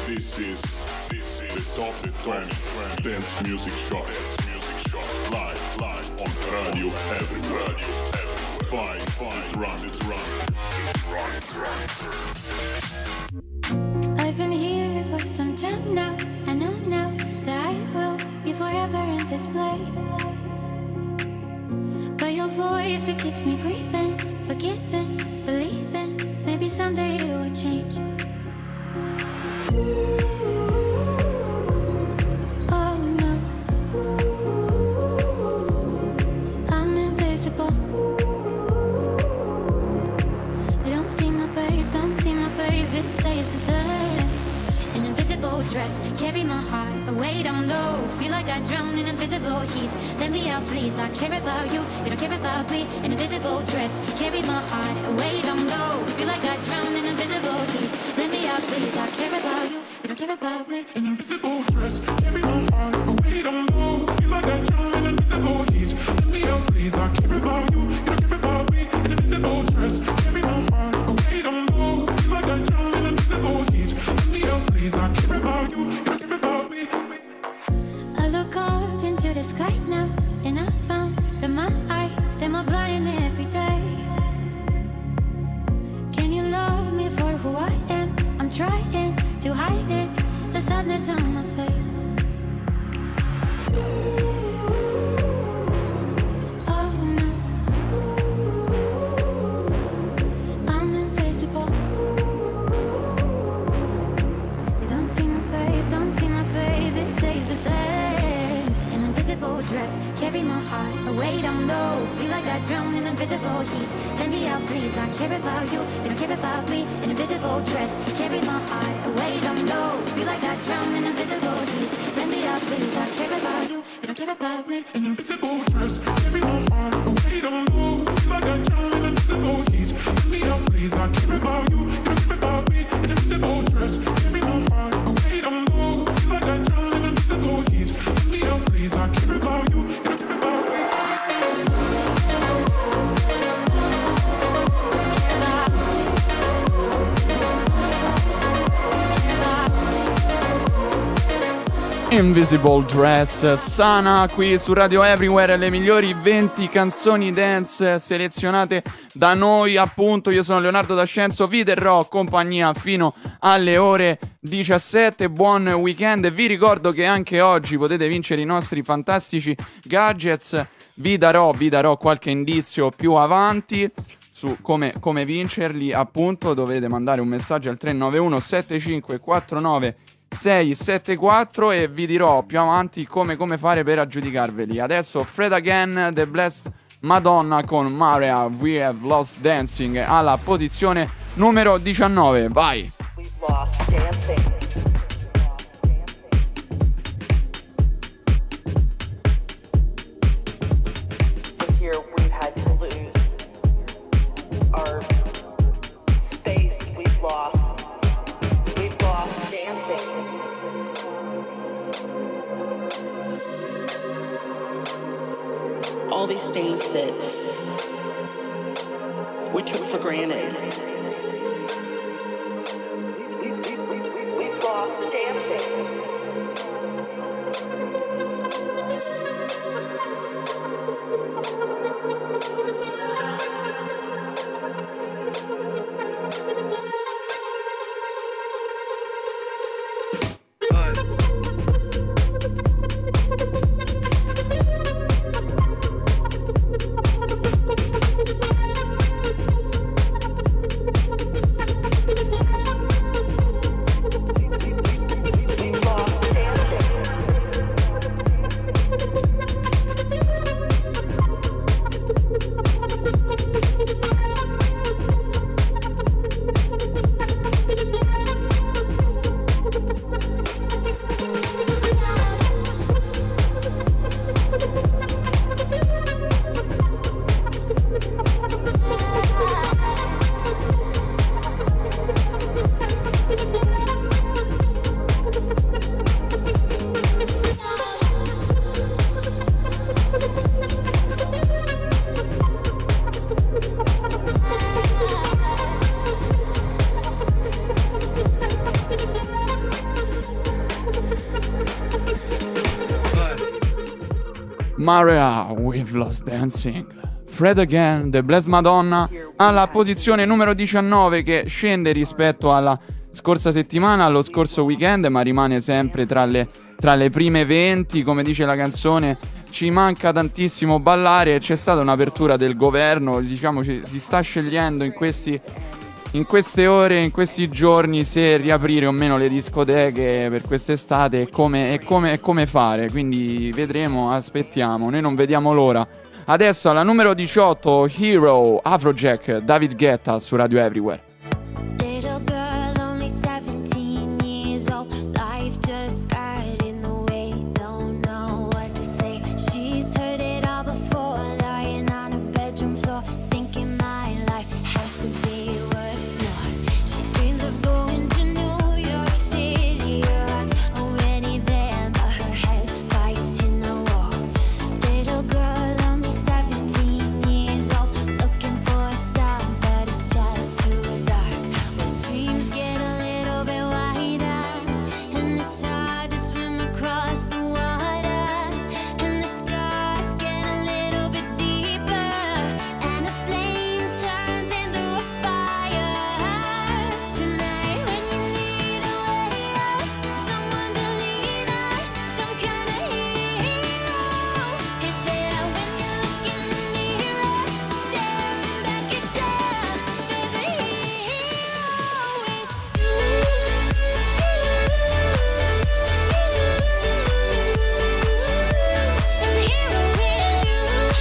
This is the Top 20 Dance Music Show. Live on Radio Everywhere. Five, run. I've been here for some time now. I know now that I will be forever in this place. But your voice, it keeps me breathing, forgiving, believing. Maybe someday it will change. Oh no, I'm invisible. Don't see my face, it stays the same. An invisible dress, carry my heart away down low. Feel like I drown in invisible heat. Let me out please, I care about you, you don't care about me. An invisible dress, carry my heart away down low. Feel like I drown in invisible heat. Let me out please, I care about you, you don't care about me. An invisible dress, carry my heart away down low. Feel like I drown in invisible heat. Let me out please, I care about you, you don't care about me. An invisible dress, carry my heart away down low. Feel like I drown in invisible heat. Let me out please, I care about you, you don't care about me. I look up into the sky now, and I found that my eyes, them are blind every day. Can you love me for who I am? I'm trying to hide it, the sadness on my face. Oh no, I'm invisible. They don't see my face, it stays the same. An invisible dress, carry my heart away down low. Feel like I drown in invisible heat. Let me out please, I care about you, you don't care about me. An invisible dress, carry my heart away down low. Feel like I drown in invisible heat. Let me out please, I care about you, you don't care about me. An invisible dress, carry my heart away down low. Feel like I drown in invisible heat. Let me out please, I care about you, you don't care about me. An invisible dress, carry my heart away down low. Feel like I drown in invisible heat. Let me out please, I care about you, you don't care about me. Invisible Dress, Sana qui su Radio Everywhere, le migliori 20 canzoni dance selezionate da noi, appunto. Io sono Leonardo D'Ascenzo, vi terrò compagnia fino alle ore 17. Buon weekend, vi ricordo che anche oggi potete vincere i nostri fantastici gadgets. Vi darò qualche indizio più avanti su come vincerli, appunto. Dovete mandare un messaggio al 391 7549 674 e vi dirò più avanti come fare per aggiudicarveli. Adesso Fred Again, The Blessed Madonna con Maria, We Have Lost Dancing alla posizione numero 19. Vai! We've lost dancing. This year we've had to lose our space. We've lost dancing. All these things that we took for granted. We've lost dancing. Maria, we've lost dancing. Fred Again, The Blessed Madonna, alla posizione numero 19, che scende rispetto alla scorsa settimana, allo scorso weekend, ma rimane sempre tra le prime 20. Come dice la canzone, ci manca tantissimo ballare. C'è stata un'apertura del governo, diciamo si sta scegliendo in queste ore, in questi giorni, se riaprire o meno le discoteche per quest'estate e come fare. Quindi vedremo, aspettiamo, noi non vediamo l'ora. Adesso alla numero 18, Hero, Afrojack, David Guetta su Radio Everywhere. Little girl, only 17 years old. Life just got in the way. Don't know what to say. She's heard it all before, lying on her bedroom floor, thinking my life has to be worth more. She dreams of going to New York City. Her heart's already there, but her head's fighting the war. Little girl, only 17 years old, looking for a star, but it's just too dark. When dreams get a little bit wider, and it's hard to swim across the water, and the scars get a little bit deeper, and a flame turns into a fire. Tonight when you need a way out, someone to lean on, some kind of hero is there. When you look in the mirror, staring back at you, there's a hero with you. There's a hero with you.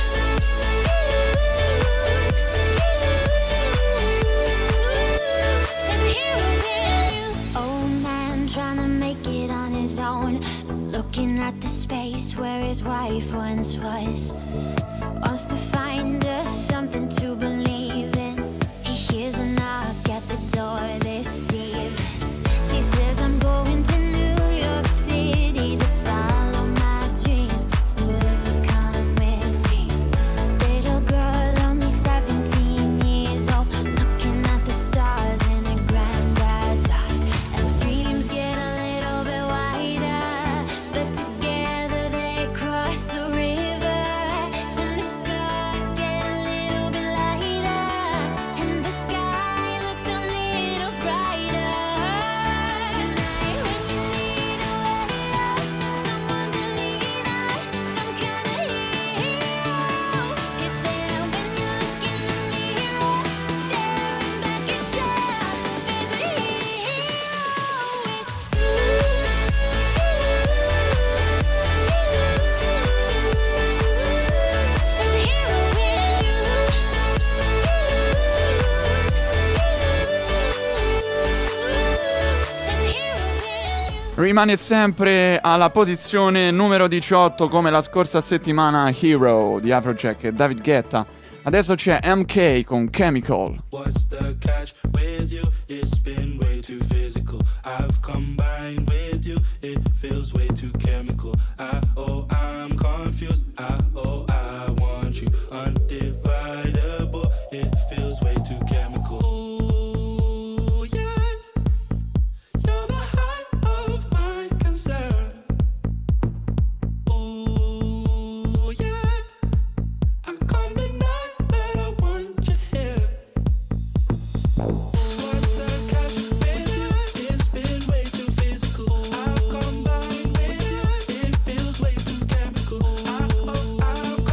There's a hero with you. Old man trying to make it on his own, looking at the space where his wife once was. Wants to find us something to believe in. He hears a knock at the door this evening. She says, I'm going to New York City to follow my dreams. Would you come with me? Little girl, only 17 years old, looking at the stars in her granddad's eye. And dreams get a little bit wider, but together they cross the river. And the scars get a little bit lighter, and the sky looks a little brighter. Tonight when you need a way out, someone to lean on, some kind of hero is there. When you look in the mirror, staring back at you, there's a hero with you. There's a hero with you. There's a hero with you. Rimane sempre alla posizione numero 18 come la scorsa settimana, Hero di Afrojack e David Guetta. Adesso c'è MK con Chemical. What's the catch with you? It's been way too physical. I've combined with you. It feels way too chemical. I'm confused. I want you undividable. It feels way too chemical. Ooh, yeah. You're the height of my concern. Ooh, yeah. I come tonight, but I want you here. What's the catch with you? It's been way too physical. I've combined with you. It feels way too chemical. I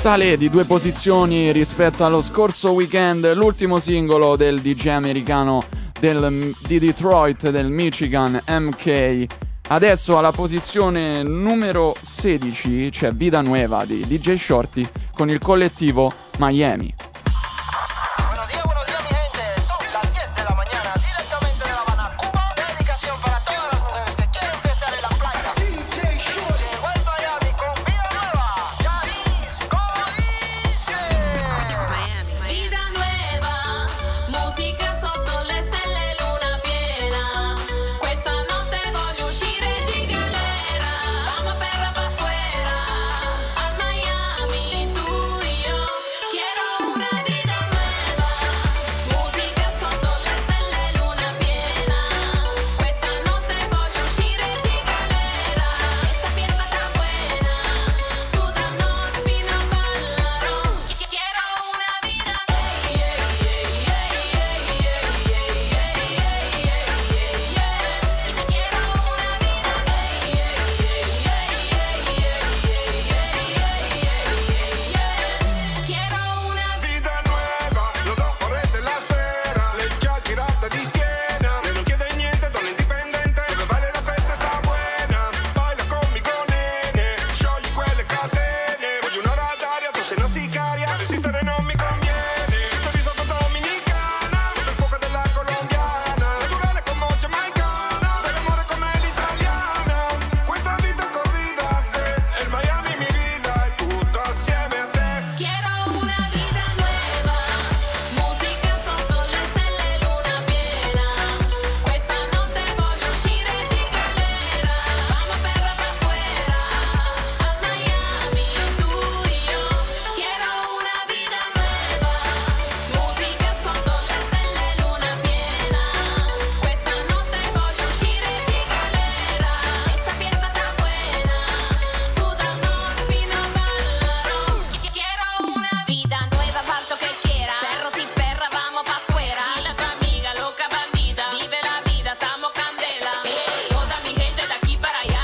Sale di 2 posizioni rispetto allo scorso weekend l'ultimo singolo del DJ americano di Detroit, del Michigan, MK. Adesso alla posizione numero 16 c'è Vida Nueva di DJ Shorty con il collettivo Miami. Buenos días, mi gente. Son las 10 de la mañana, directamente de La Habana, Cuba. Dedicación para todas las mujeres que quieren fiestar en la playa. DJ Shorty llegó el Miami con Vida Nueva. Jalisco dice. Vida nueva, musica sotto le stelle, luna piena. Questa notte voglio uscire di galera. Vamos perra pa' afuera, a Miami, tú y yo. Quiero una vida nueva, musica sotto le stelle, luna piena. Questa notte voglio uscire di galera. Esta fiesta está buena, sudando fino a ballarò. Quiero una vida Vida nuova, lo do correte la sera. Le chiacchierate di schiena. E non chiede niente, donna indipendente. Dove vale la festa sta buena. Baila conmigo, nene. Sciogli quelle catene. Voglio un'ora d'aria, tu sei una sicaria. Resistere non mi conviene. Sorriso da dominicana. Il fuoco della colombiana. Naturale come giamaicana. Dell'amore come l'italiana. Questa vita corrida è il Miami mi vida. E tutto assieme a te. Quiero una vida nueva, musica sotto le stelle, luna piena. Questa notte voglio uscire di galera. Vamos perra pa' afuera, a Miami, tú y yo. Quiero una vida nueva, musica sotto le stelle, luna piena. Questa notte voglio uscire di galera. Esta fiesta está buena, sudando fino a ballarò. Quiero una vida nueva, falto que quiera. Perro sin perra, vamos pa' afuera. Dile a tu amiga, loca bandida. Vive la vida, estamos candela. Toda mi gente de aquí para allá.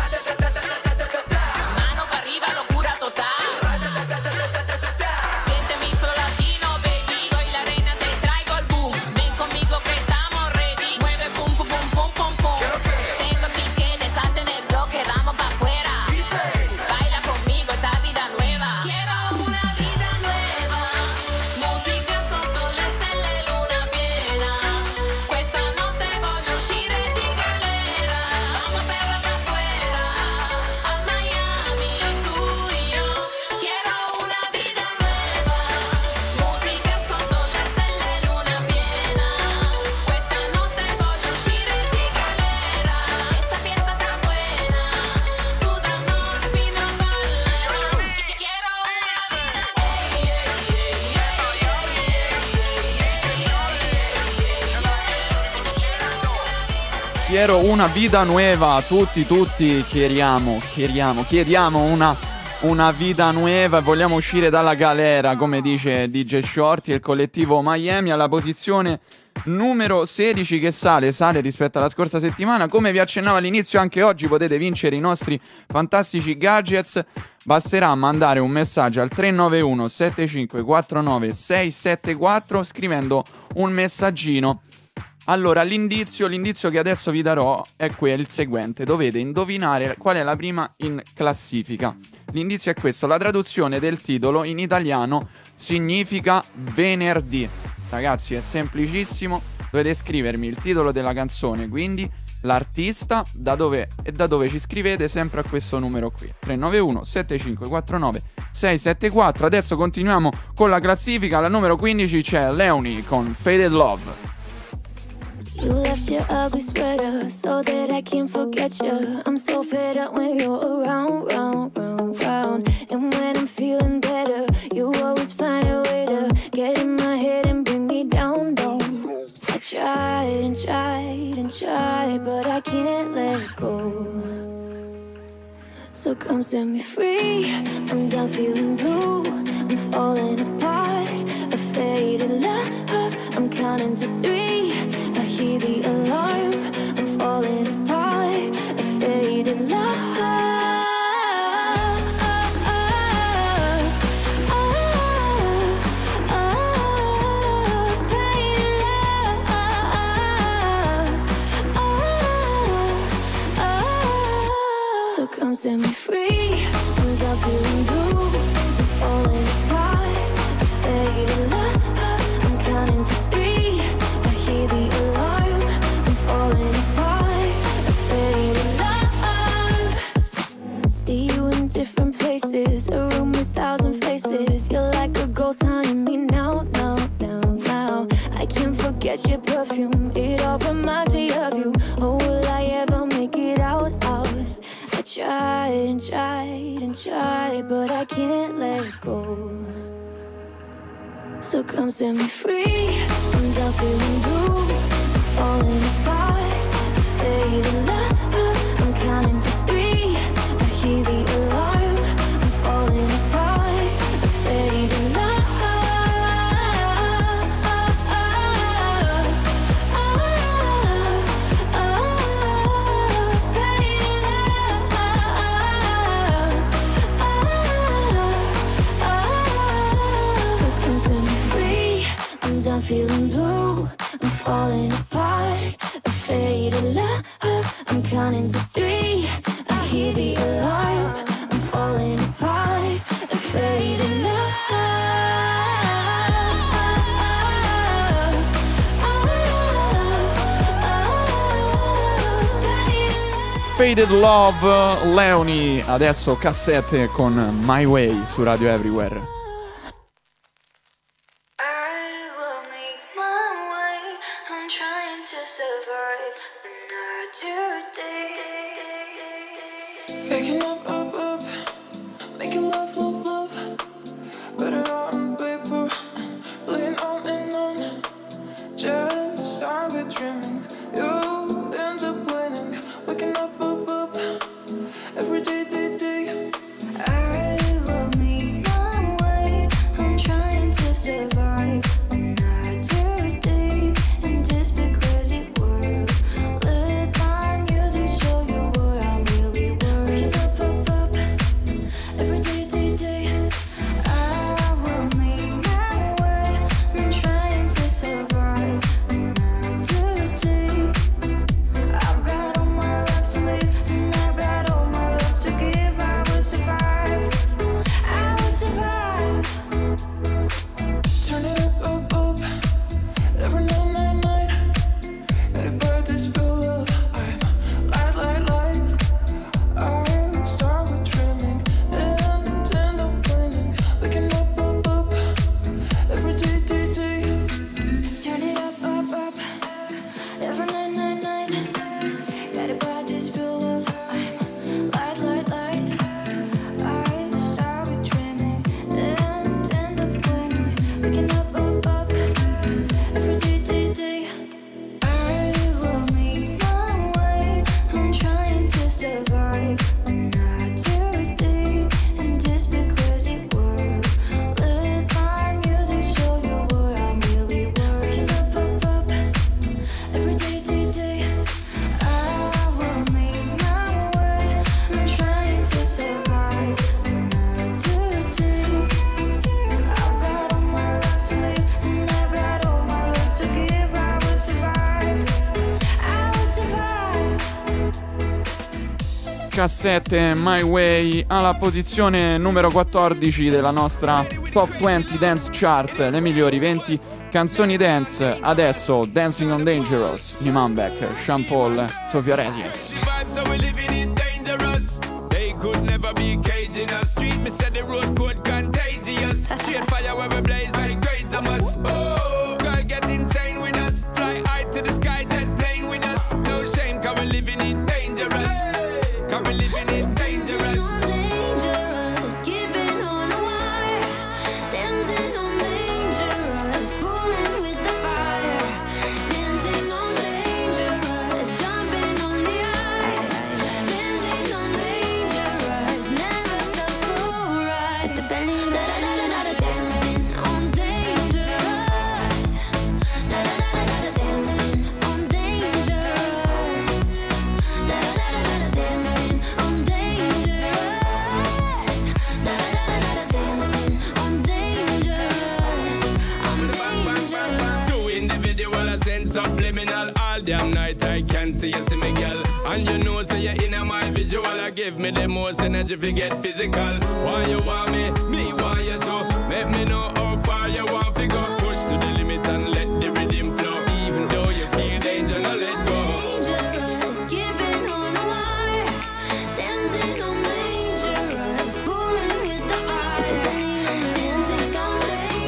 Mano para arriba, locura total. Siente mi flow latino, baby. Soy la reina, te traigo el boom. Ven conmigo que estamos ready. Mueve pum pum pum pum pum pum. Tengo tiquetes, salte en el bloque, vamos pa' afuera. Baila conmigo esta vida nueva. Quiero una vida nueva, musica sotto le stelle, luna piena. Questa notte voglio uscire di galera. Vamos perra pa' afuera, a Miami, tú y yo. Quiero una vida nueva, musica sotto le stelle, luna piena. Questa notte voglio uscire di galera. Esta fiesta está buena, sudando fino a ballarò. Quiero Quiero una vida nueva, tutti chiediamo una vita nuova e vogliamo uscire dalla galera, come dice DJ Shorty e il collettivo Miami alla posizione numero 16 che sale rispetto alla scorsa settimana. Come vi accennavo all'inizio, anche oggi potete vincere i nostri fantastici gadgets. Basterà mandare un messaggio al 391 7549 674 scrivendo un messaggino. Allora, l'indizio che adesso vi darò è il seguente. Dovete indovinare qual è la prima in classifica. L'indizio è questo. La traduzione del titolo in italiano significa venerdì. Ragazzi, è semplicissimo. Dovete scrivermi il titolo della canzone, quindi l'artista, da dove ci scrivete, sempre a questo numero qui. 391 7549 674. Adesso continuiamo con la classifica. Alla numero 15 c'è Leonie con Faded Love. You left your ugly sweater so that I can't forget you. I'm so fed up when you're around, round, round, round. And when I'm feeling better, you always find a way to get in my head and bring me down, down. I tried and tried and tried, but I can't let it go. So come set me free. I'm done feeling blue. I'm falling apart. A faded love. I'm counting to 3. I hear the alarm. I'm falling apart. A faded love. go tying me now. I can't forget your perfume, it all reminds me of you. Oh, will I ever make it out? I tried and tried and tried, but I can't let go. So come set me free, I'm done feeling blue, falling apart, fading love. I'm counting to 3, I hear the alarm, I'm falling apart, fading love. I'm feeling blue, I'm falling apart, a faded love. I'm counting to 3, I hear the alarm. I'm falling apart, a faded love. Faded Love, Leoni, adesso cassette con My Way su Radio Everywhere. Cassette My Way alla posizione numero 14 della nostra Top 20 Dance Chart, le migliori 20 canzoni dance. Adesso Dancing on Dangerous, Iman Beck, Sean Paul, Sofia Reyes. Subliminal all damn night I can't see you see me girl. And you know say you're in my visual. I give me the most energy if you get physical. Why you want me want you to. Make me know how far you want to go. Push to the limit and let the rhythm flow. Even though you feel danger, no let go. Dangerous, keeping on the wire, dancing on dangerous, fooling with the fire, dancing on dangerous.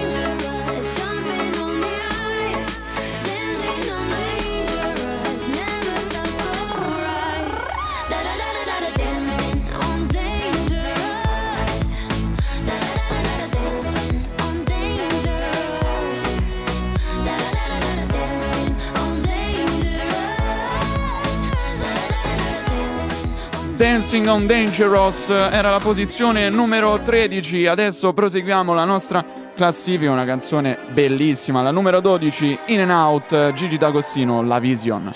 Dancing on Dangerous era la posizione numero 13. Adesso proseguiamo la nostra classifica, una canzone bellissima, la numero 12, In and Out, Gigi D'Agostino, La Vision.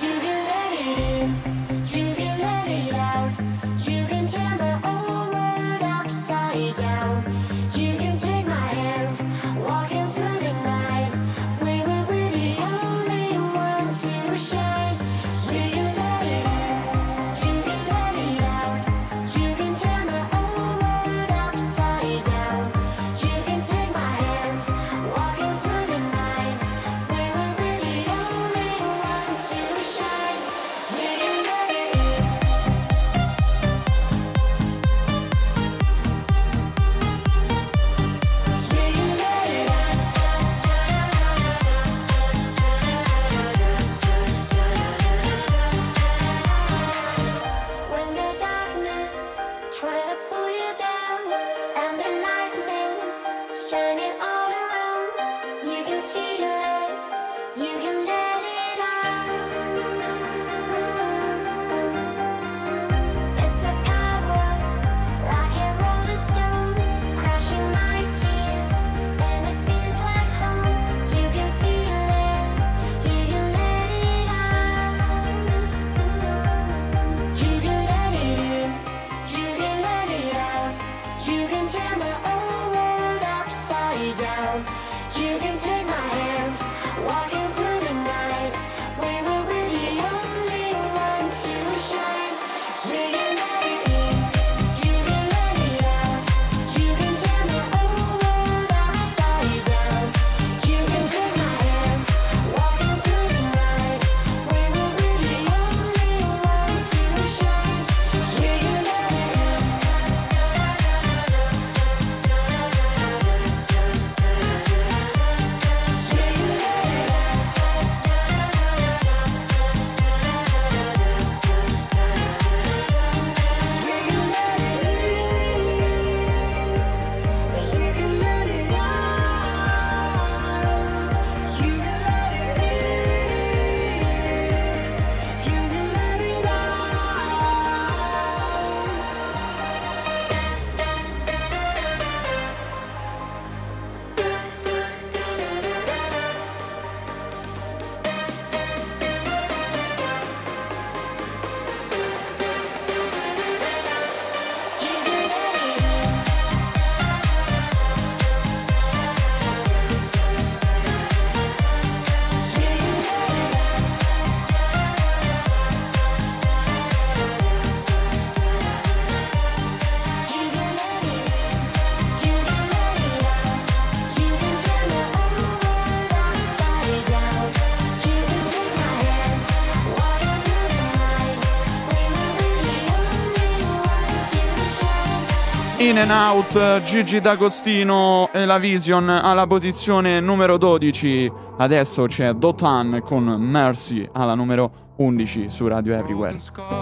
In and Out, Gigi D'Agostino e La Vision alla posizione numero 12. Adesso c'è Dotan con Mercy alla numero 11 su Radio Everywhere.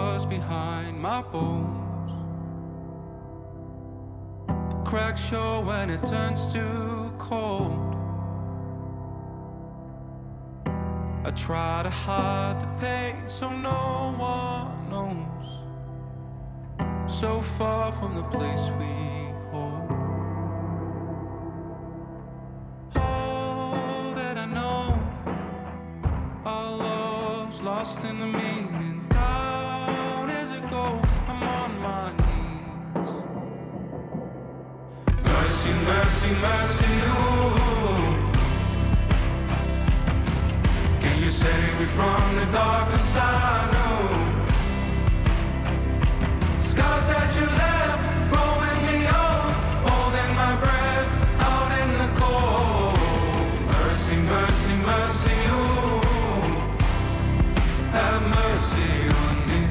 Cracks show when it turns too cold. I try to hide the pain so no one knows. So far from the place we hold. Oh, that I know our love's lost in the meaning. Down as it goes, I'm on my knees. Mercy, mercy, mercy, ooh. Can you save me from the darkness I know? Scars that you left, growing me old, holding my breath out in the cold. Mercy, mercy, mercy, ooh, have mercy on me.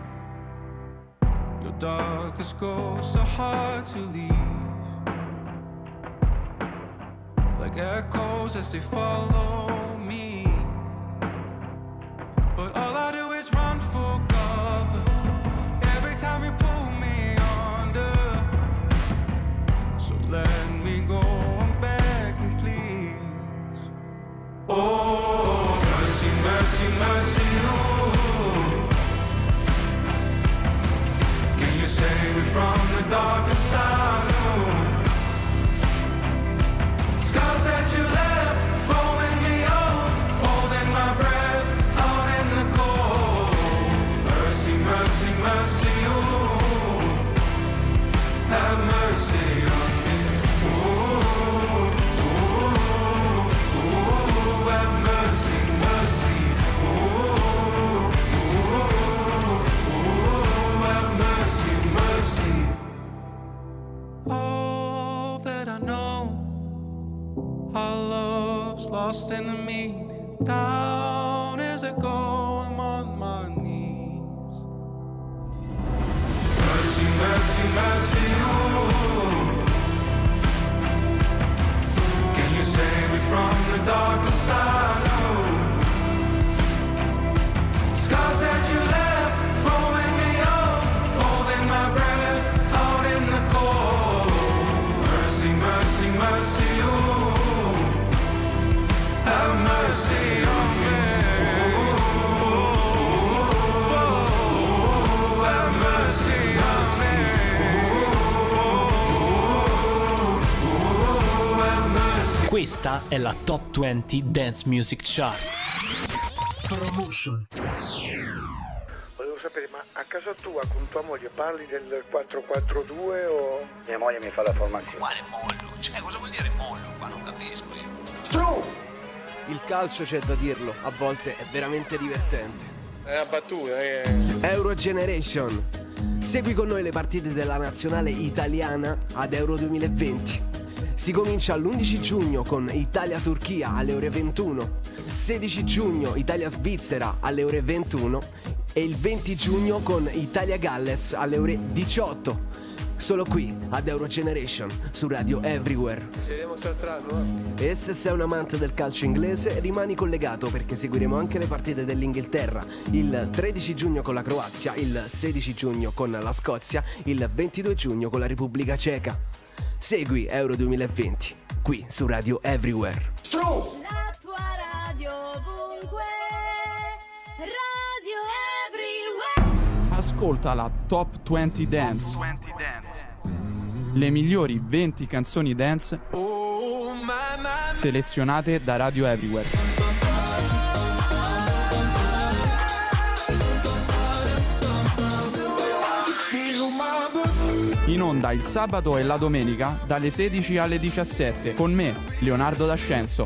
Your darkest ghosts are hard to leave, like echoes as they follow me. But all I do is run for cover every time you pull me under. So let me go, I'm begging, please. Oh, mercy, mercy, mercy, ooh. Our love's lost in the meaning. Down as I go, I'm on my knees. Mercy, mercy, mercy, ooh. Can you save me from the darkness I know? Scars that you left, growing me up, holding my breath out in the cold. Mercy, mercy, mercy, ooh. Have mercy on me. Ooh, have mercy on me. Ooh, have mercy. Questa è la Top 20 Dance Music Chart. Promotion. Volevo sapere, ma a casa tua con tua moglie parli del 442 o... Mia moglie mi fa la formazione. Quale mollo? Cioè, cosa vuol dire mollo qua? Non capisco io. Stru! Il calcio, c'è da dirlo, a volte è veramente divertente. È una battuta, Euro Generation. Segui con noi le partite della nazionale italiana ad Euro 2020. Si comincia l'11 giugno con Italia-Turchia alle ore 21, 16 giugno Italia-Svizzera alle ore 21 e il 20 giugno con Italia-Galles alle ore 18. Solo qui ad Euro Generation su Radio Everywhere. Ci vediamo saltato, eh? E se sei un amante del calcio inglese, rimani collegato perché seguiremo anche le partite dell'Inghilterra il 13 giugno con la Croazia, il 16 giugno con la Scozia, il 22 giugno con la Repubblica Ceca. Segui Euro 2020 qui su Radio Everywhere. La tua radio ovunque, Radio Everywhere. Ascolta la Top 20 Dance. Le migliori 20 canzoni dance selezionate da Radio Everywhere. In onda il sabato e la domenica dalle 16 alle 17 con me, Leonardo D'Ascenso.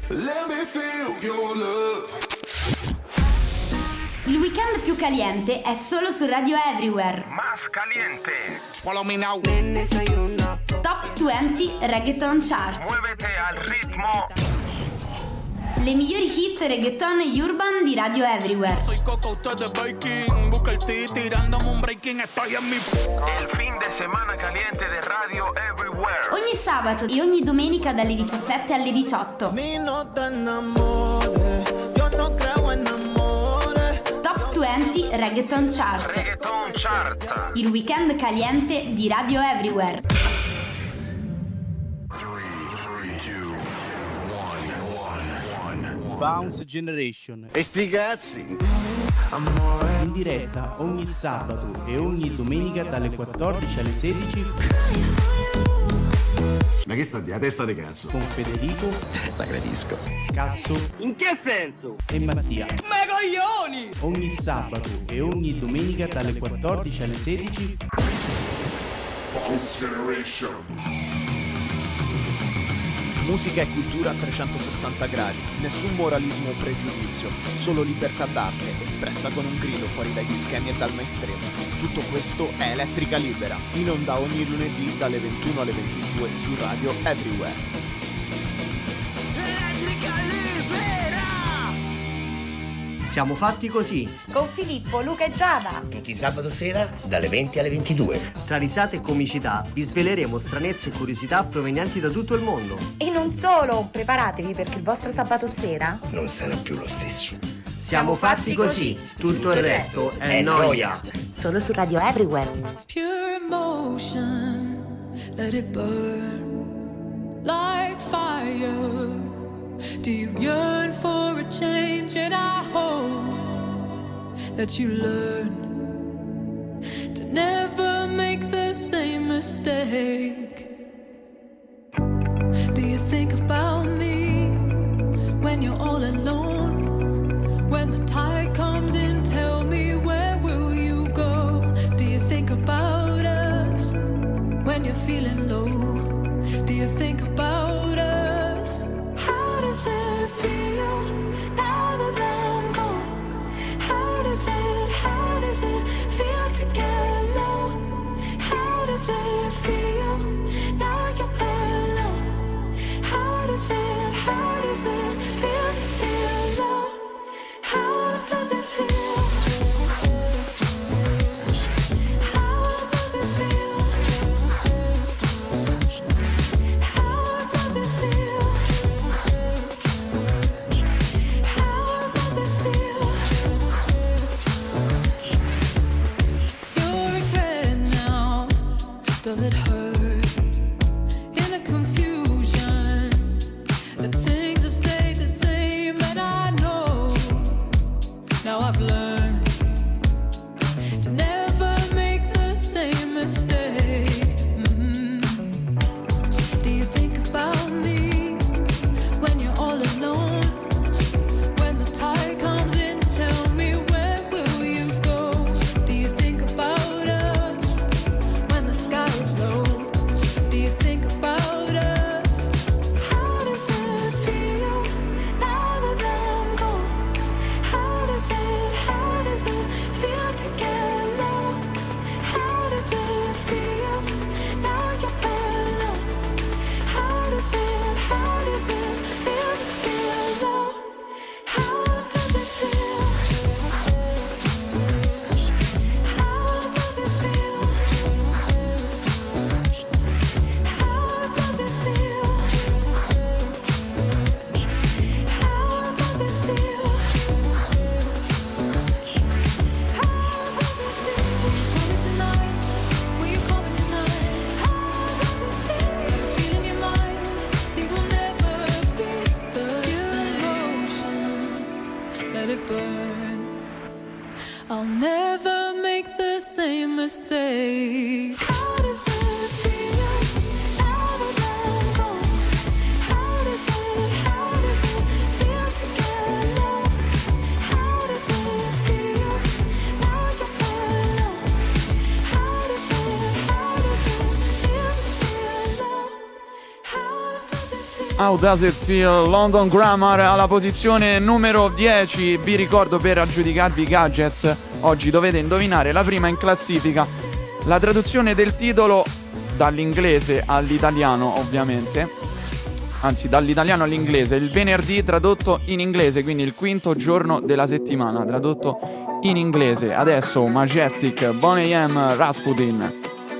Il weekend più caliente è solo su Radio Everywhere. Más caliente. Follow me now. Top 20 Reggaeton Chart. Muévete al ritmo. Le migliori hit reggaeton e urban di Radio Everywhere. Soy Coco, usted es Baking. Busca el T, tirándome un breaking. Estoy en mi... El fin de semana caliente de Radio Everywhere. Ogni sabato e ogni domenica dalle 17 alle 18. Mi no te enamores, yo no creo en amores. Top 20 Reggaeton Chart. Reggaeton Chart. Il weekend caliente di Radio Everywhere. Bounce Generation. E sti cazzi! In diretta ogni sabato e ogni domenica dalle 14 alle 16. Ma che sta di a testa di cazzo? Con Federico. La gradisco. Scasso. In che senso? E Mattia. Ma coglioni! Ogni sabato e ogni domenica dalle 14 alle 16. Bounce Generation. Musica e cultura a 360 gradi, nessun moralismo o pregiudizio, solo libertà d'arte espressa con un grido fuori dagli schemi e dal mainstream. Tutto questo è Elettrica Libera, in onda ogni lunedì dalle 21 alle 22 su Radio Everywhere. Elettrica Libera! Siamo fatti così. Con Filippo, Luca e Giada. Tutti sabato sera dalle 20 alle 22. Tra risate e comicità vi sveleremo stranezze e curiosità provenienti da tutto il mondo. E non solo, preparatevi perché il vostro sabato sera non sarà più lo stesso. Siamo fatti così. Tutto il resto è noia. Solo su Radio Everywhere. Pure emotion, let it burn like fire. Do you yearn for a change? And I hope that you learn to never make the same mistake. Do you think about me when you're all alone? When the tide comes in, tell me, where will you go? Do you think about us when you're feeling low? Do you think about us? How does it feel now that I'm gone? How does it feel to get low? How does it feel How Does It Feel? London Grammar alla posizione numero 10. Vi ricordo, per aggiudicarvi i gadgets, oggi dovete indovinare la prima in classifica, la traduzione del titolo dall'inglese all'italiano, ovviamente, anzi dall'italiano all'inglese, il venerdì tradotto in inglese, quindi il quinto giorno della settimana tradotto in inglese. Adesso Majestic, Boney M, Rasputin.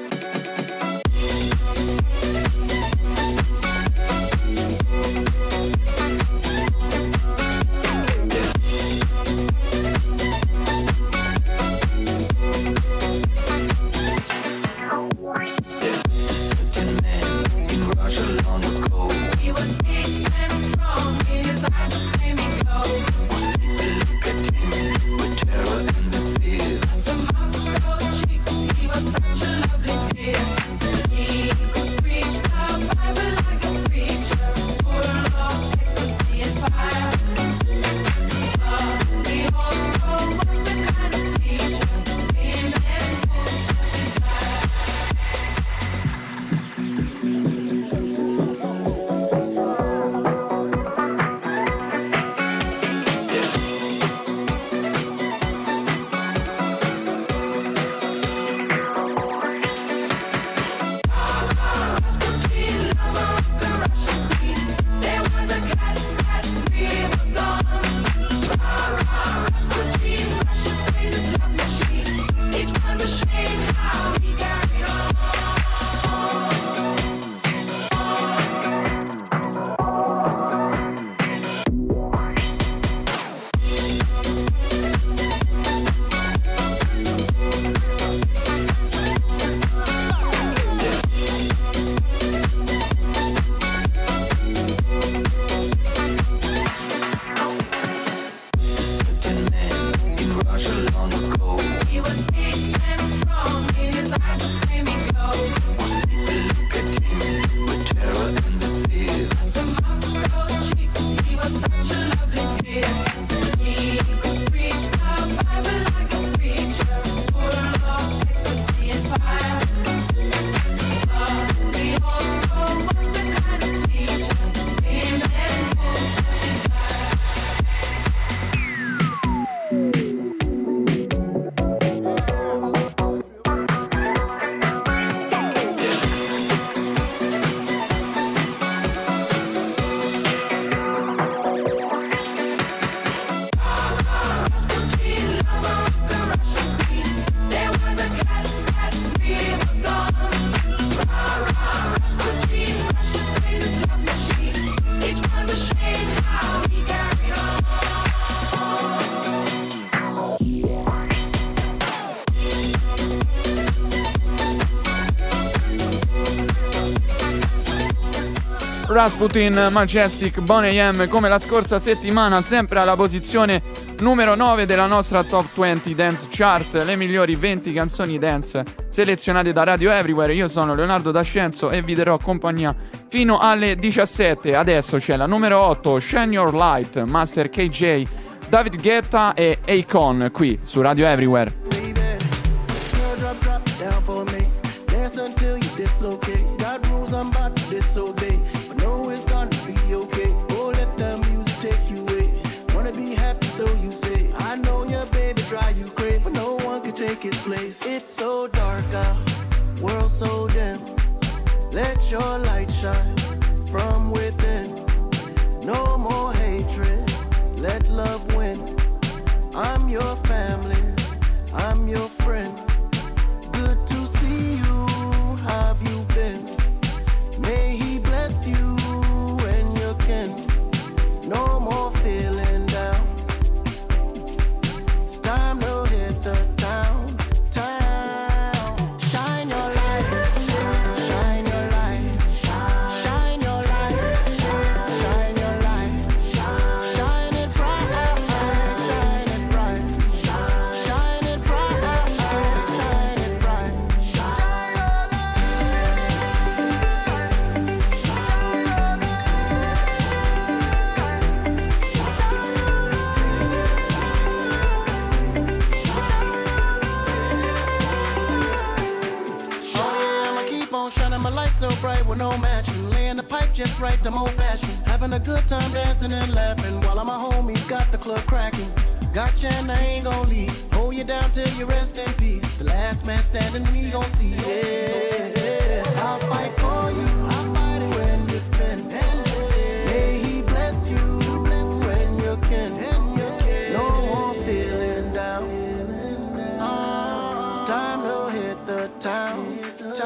Rasputin, Majestic, Boney M, come la scorsa settimana, sempre alla posizione numero 9 della nostra Top 20 Dance Chart, le migliori 20 canzoni dance selezionate da Radio Everywhere. Io sono Leonardo D'Ascenso e vi darò compagnia fino alle 17. Adesso c'è la numero 8, Shine Your Light, Master KJ, David Guetta e Akon, qui su Radio Everywhere. Take its place. It's so dark out, world so dim. Let your light shine from within. No more hatred, let love win. I'm your family, I'm your friend. Good to see you, how have you been? May he bless you and your kin. No more feeling down. It's time to hit the town. So bright with no matches, laying the pipe just right, I'm old fashioned. having a good time dancing and laughing while all my homies got the club cracking. Gotcha and I ain't gon' leave. Hold you down till you rest in peace. The last man standing, we gon' see. Yeah, I'll fight for you. I'll fight it when you defend. May he bless you when you can. No more feeling down. It's time to hit the town.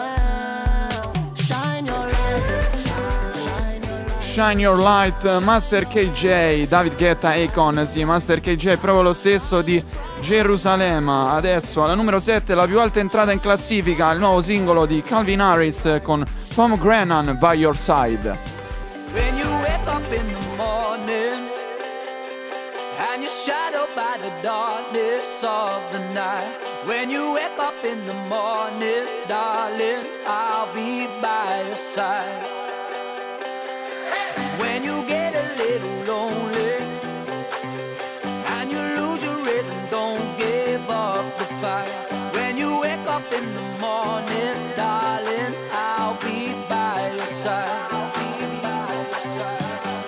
Shine your light. Shine Your Light, Master KJ, David Guetta, Akon, sì, Master KJ è proprio lo stesso di Gerusalemme. Adesso alla numero 7, la più alta entrata in classifica, il nuovo singolo di Calvin Harris con Tom Grennan, By Your Side. When you wake up in the morning and you're shadowed by the darkness of the night. When you wake up in the morning, darling, I'll be by your side. When you get a little lonely and you lose your rhythm, don't give up the fight. When you wake up in the morning, darling, I'll be by your side. I'll be by your side.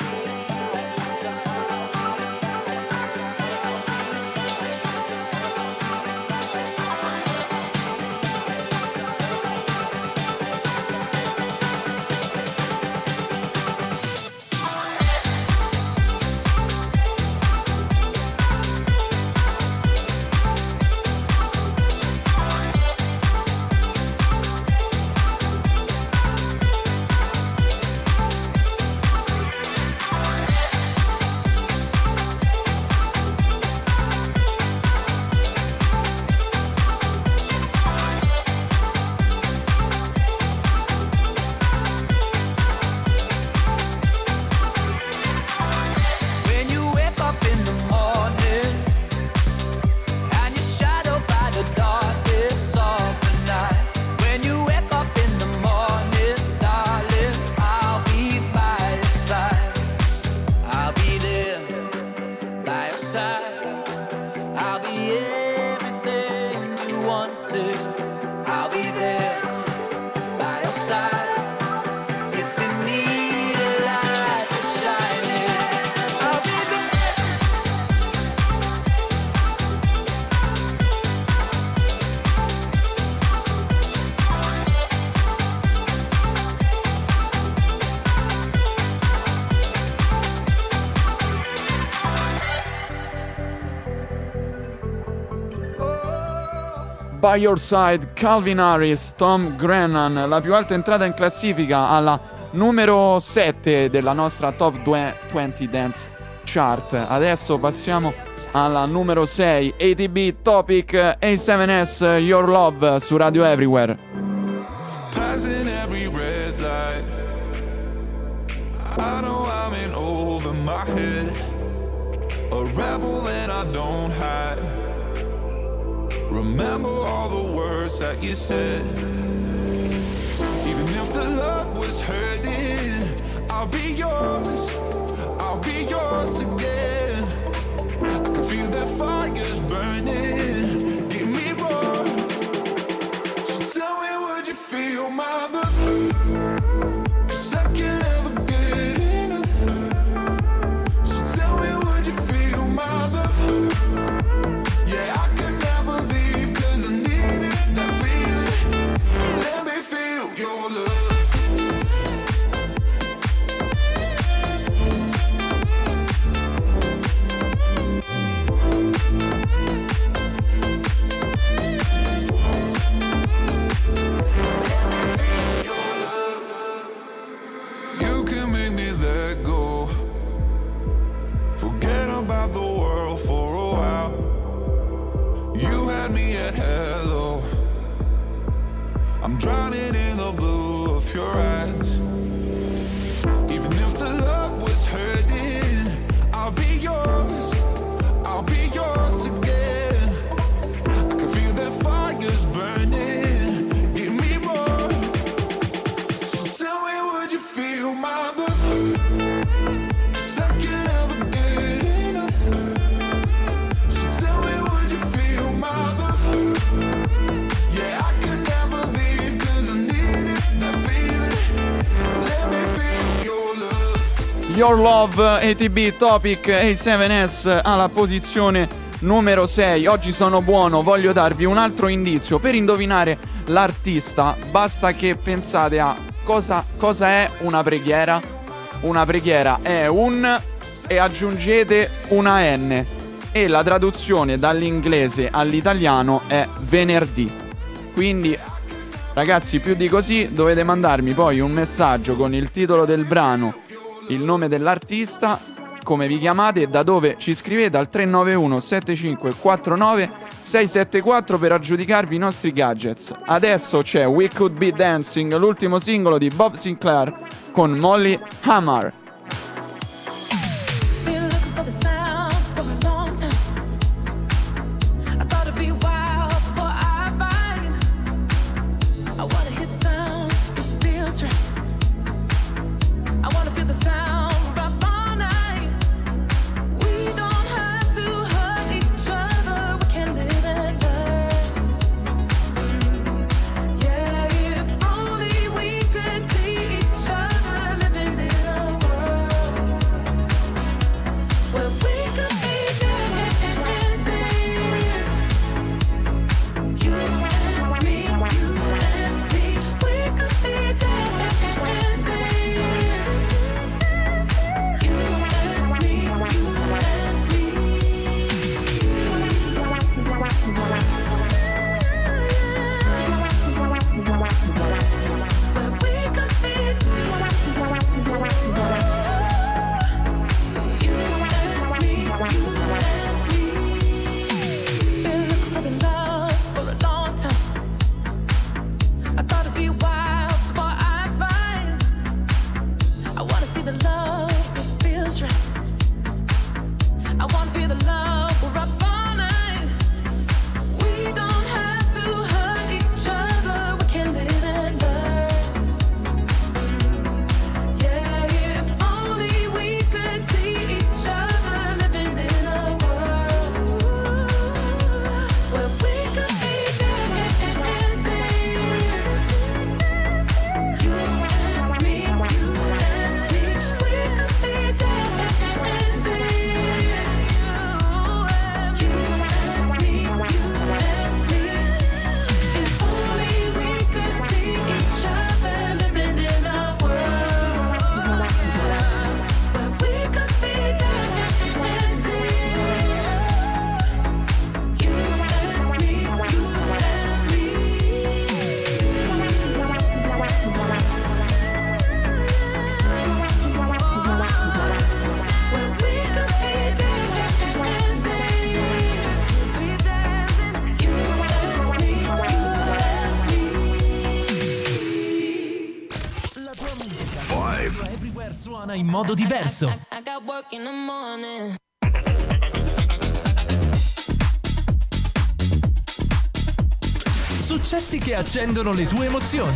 By Your Side, Calvin Harris, Tom Grennan, la più alta entrata in classifica alla numero 7 della nostra Top 20 Dance Chart. Adesso passiamo alla numero 6, ATB Topic, A7S, Your Love su Radio Everywhere. Passing every red light, I know I'm in over my head, a rebel and I don't hide. Remember all the words that you said. Even if the love was hurting, I'll be yours, I'll be yours again. I can feel that fire's burning, give me more. So tell me, would you feel my love? 'Cause I can't ever get enough. So tell me, would you feel my love? Yeah, I can never leave 'cause I needed that feeling. Let me feel your love. You can make me let go, forget about the world for a while. You had me at hello, I'm drowning in the blue of your eyes. Even if the love was hurting, I'll be yours, I'll be yours again. I can feel that fire's burning, give me more. So tell me, would you feel my love? 'Cause I can't ever get enough. So tell me, would you feel my love? Yeah, I could never leave 'cause I needed that feeling. Your Love, ATB, Topic, A7S alla posizione numero 6. Oggi sono buono, voglio darvi un altro indizio. Per indovinare l'artista basta che pensate a cosa è una preghiera. Una preghiera è un e aggiungete una N e la traduzione dall'inglese all'italiano è venerdì. Quindi ragazzi, più di così dovete mandarmi poi un messaggio con il titolo del brano, il nome dell'artista, come vi chiamate e da dove ci scrivete al 391 7549 674 per aggiudicarvi i nostri gadgets. Adesso c'è We Could Be Dancing, l'ultimo singolo di Bob Sinclair con Molly Hammer. Suona in modo diverso. I got work in the morning. Successi che accendono le tue emozioni.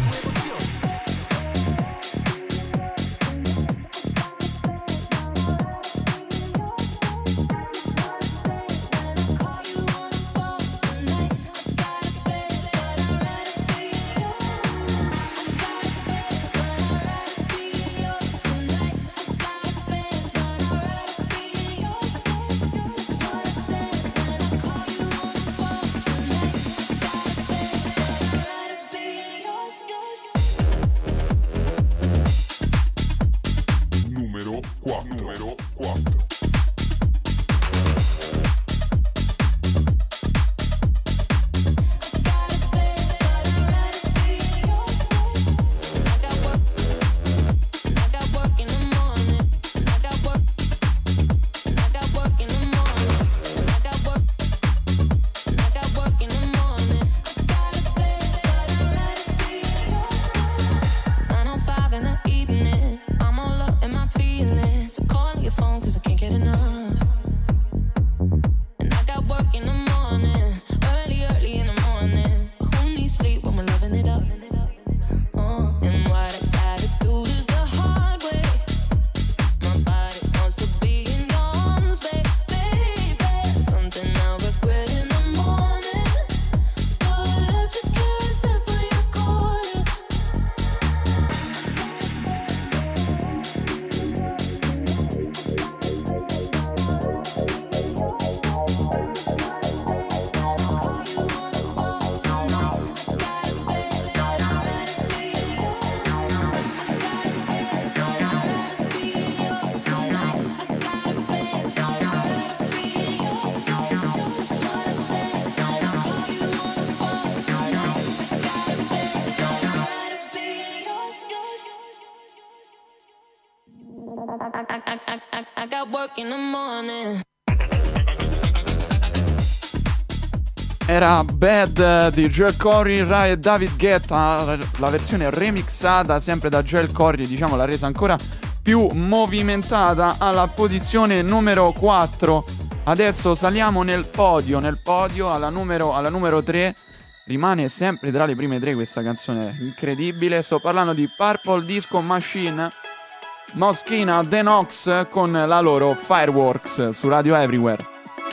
I got work in the morning. Era Bad di Joel Corry, Rai e David Guetta, la versione remixata sempre da Joel Corry, diciamo l'ha resa ancora più movimentata, alla posizione numero 4. Adesso saliamo nel podio alla numero 3. Rimane sempre tra le prime 3 questa canzone incredibile. Sto parlando di Purple Disco Machine, Moschino, The Knox con la loro Fireworks su Radio Everywhere.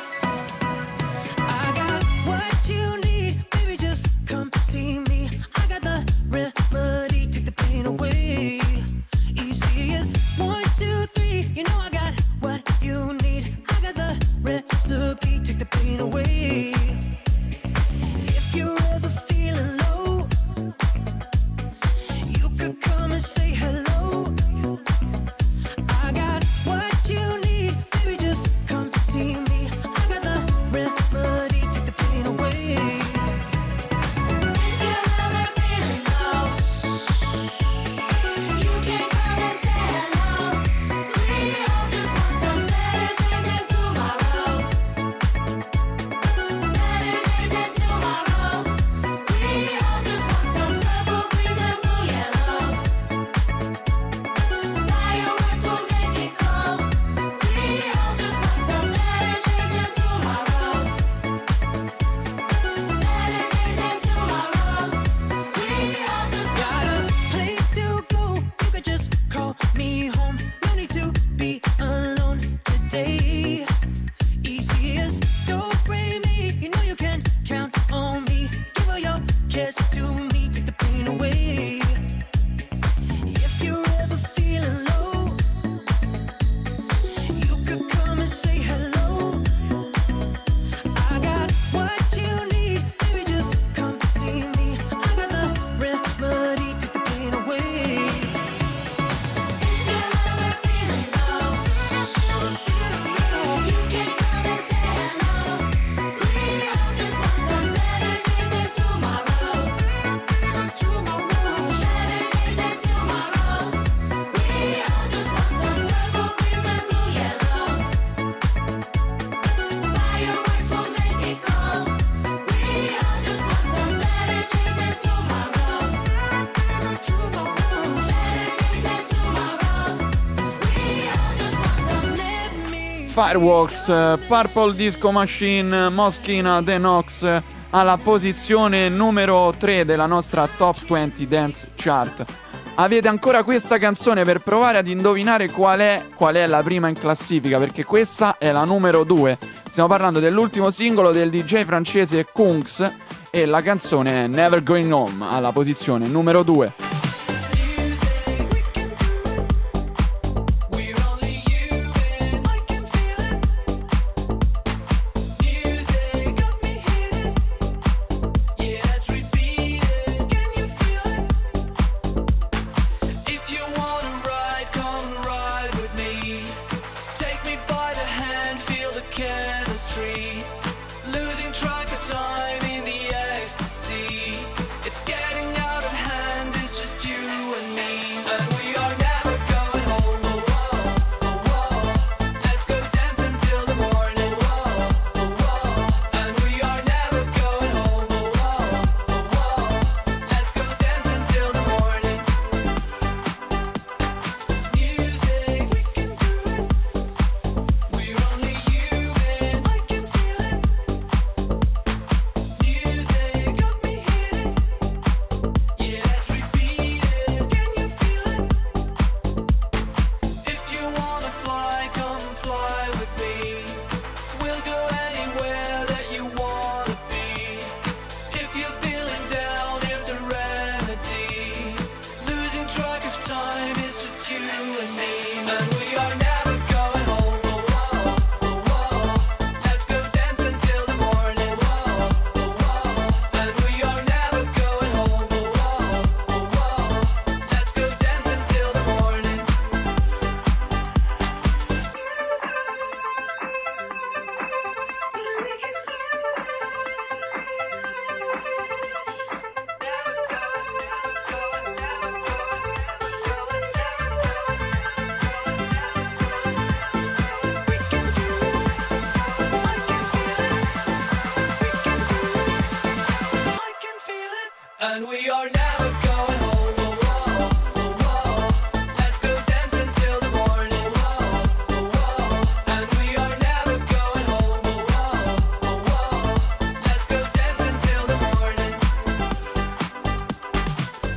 Fireworks, Purple Disco Machine, Moschino, The Knox alla posizione numero 3 della nostra Top 20 Dance Chart. Avete ancora questa canzone per provare ad indovinare qual è la prima in classifica, perché questa è la numero 2. Stiamo parlando dell'ultimo singolo del DJ francese Kungs e la canzone è Never Going Home alla posizione numero 2. Losing track of time in the ecstasy. It's getting out of hand, it's just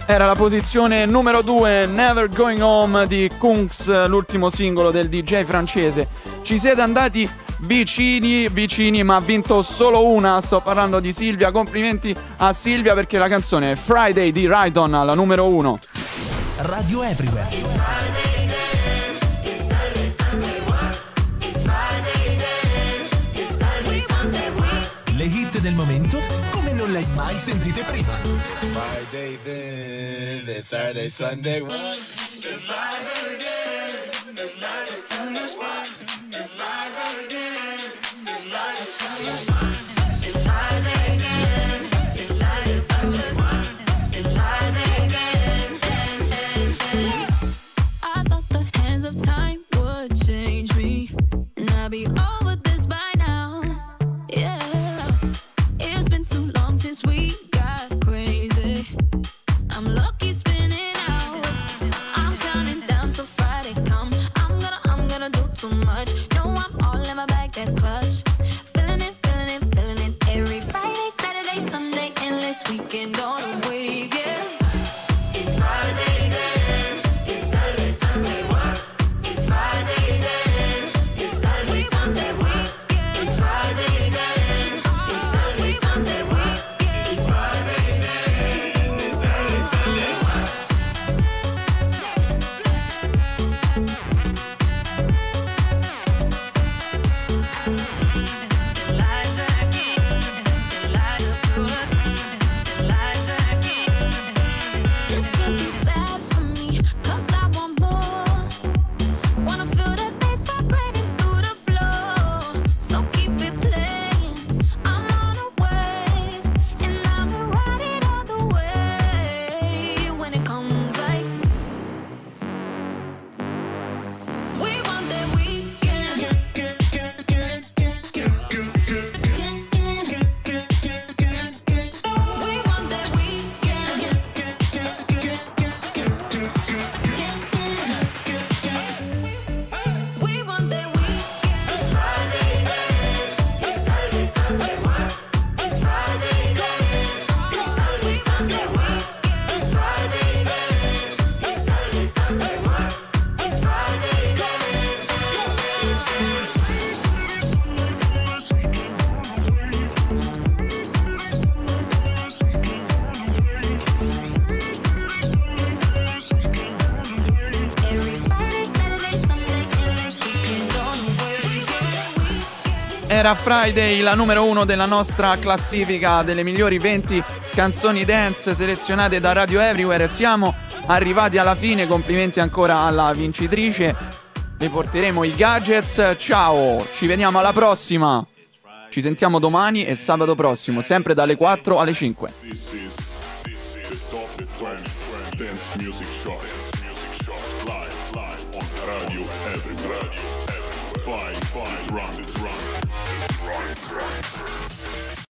Era la posizione numero 2, Never Going Home di Kungs, l'ultimo singolo del DJ francese. Ci siete andati vicini, ma ha vinto solo una. Sto parlando di Silvia. Complimenti a Silvia perché la canzone è Friday di Rydon alla numero 1. Radio Everywhere. Le hit del momento come non le hai mai sentite prima. Friday then, it's Saturday, Sunday. It's live again. It's live again. It's live again. It's live again. It's Friday again. It's Saturday, Sunday. It's Friday again. I thought the hands of time would change me, and I'd be over this by now. Yeah. It's been too long since we got crazy. I'm lucky spinning out. I'm counting down till Friday come. I'm gonna do too much. No, I'm all in my bag, that's clutch. Feeling it. Every Friday, Saturday, Sunday, endless weekend on a wave, yeah. It's Friday then. It's Saturday, Sunday. What? It's Friday then. It's Saturday, Sunday. Weekend. It's Friday then. It's Saturday, Sunday. Weekend. It's Friday then. It's Saturday, Sunday. This could be bad for me, 'cause I want more. Wanna feel that bass vibrating through the floor. So keep it playing. I'm on a wave, and I'ma ride it all the way. When it comes like we want that weekend. We want that weekend. We want that weekend. It's Friday then. It's Saturday, Sunday. What? It's Friday then. It's Saturday, Sunday. Weekend. It's Friday then. It's Saturday, Sunday. What? It's Friday then. Every Friday, Saturday, Sunday, endless weekend on the way. Era Friday, la numero 1 della nostra classifica delle migliori 20 canzoni dance selezionate da Radio Everywhere. Siamo arrivati alla fine, complimenti ancora alla vincitrice. Le porteremo i gadgets. Ciao, ci vediamo alla prossima. Ci sentiamo domani e sabato prossimo, sempre dalle 4 alle 5. This is the top 20 dance music chart. Live on Radio Everywhere. Five round.